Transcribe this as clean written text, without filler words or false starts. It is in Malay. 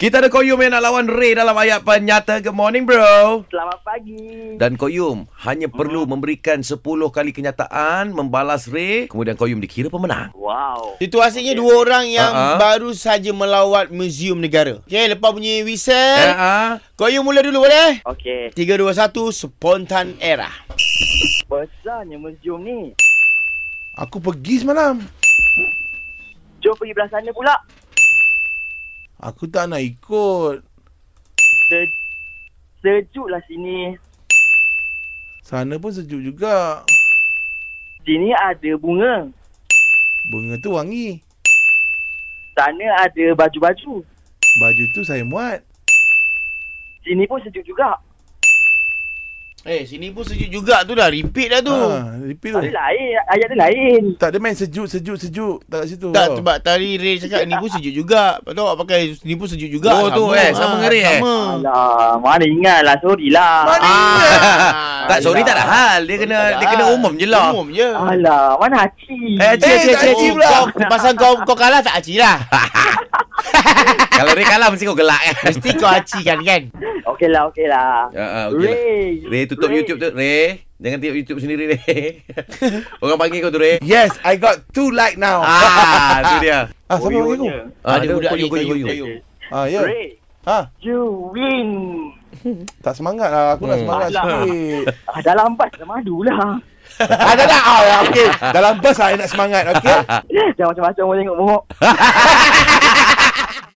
Kita ada Koyum yang nak lawan Ray dalam ayat penyata. Good morning, bro. Selamat pagi. Dan Koyum hanya perlu memberikan 10 kali kenyataan, membalas Ray, kemudian Koyum dikira pemenang. Wow. Situasinya dua orang yang baru saja melawat Museum Negara. Okey, lepas bunyi whistle, Koyum mula dulu boleh? Okey. 3, 2, 1, spontan era. Besarnya museum ni. Aku pergi semalam. Jom pergi belah sana pula. Aku tak nak ikut. Sejuklah sini. Sana pun sejuk juga. Sini ada bunga. Bunga tu wangi. Sana ada baju-baju. Baju tu saya muat. Sini pun sejuk juga. Sini pun sejuk juga tu dah. Repeat dah tu. Repeat tu. Ada lain. Ayat dia lain. Tak ada main sejuk. Tak kat situ. Tak, sebab tadi Ray cakap ni pun sejuk juga. Lepas tu awak pakai ni pun sejuk juga. Oh tu sama dengan Ray sama. Alah, mana ingat lah. Sorry lah. Tak, sorry tak ada hal. Dia kena umum je lah. Umum je. Alah, mana Haci? Haci pula. Pasal kau kalah tak aci lah. Kalau Ray kalah mesti kau gelak kan. Mesti kau aci kan. Okey lah. Okay lah. Ray tutup Ray. YouTube tu. Ray, jangan tengok YouTube sendiri, Ray. Orang panggil kau tu, Ray. Yes, I got 2 like now. Tu dia. Siapa panggil aku? Ada budak ni Koyum. Ya. Ray, you win. Tak semangat lah. Aku nak semangat Alah. sikit. Dalam bas dah madu lah. Okey. Dalam bus saya nak semangat, okey? Jangan macam-macam orang tengok mohok.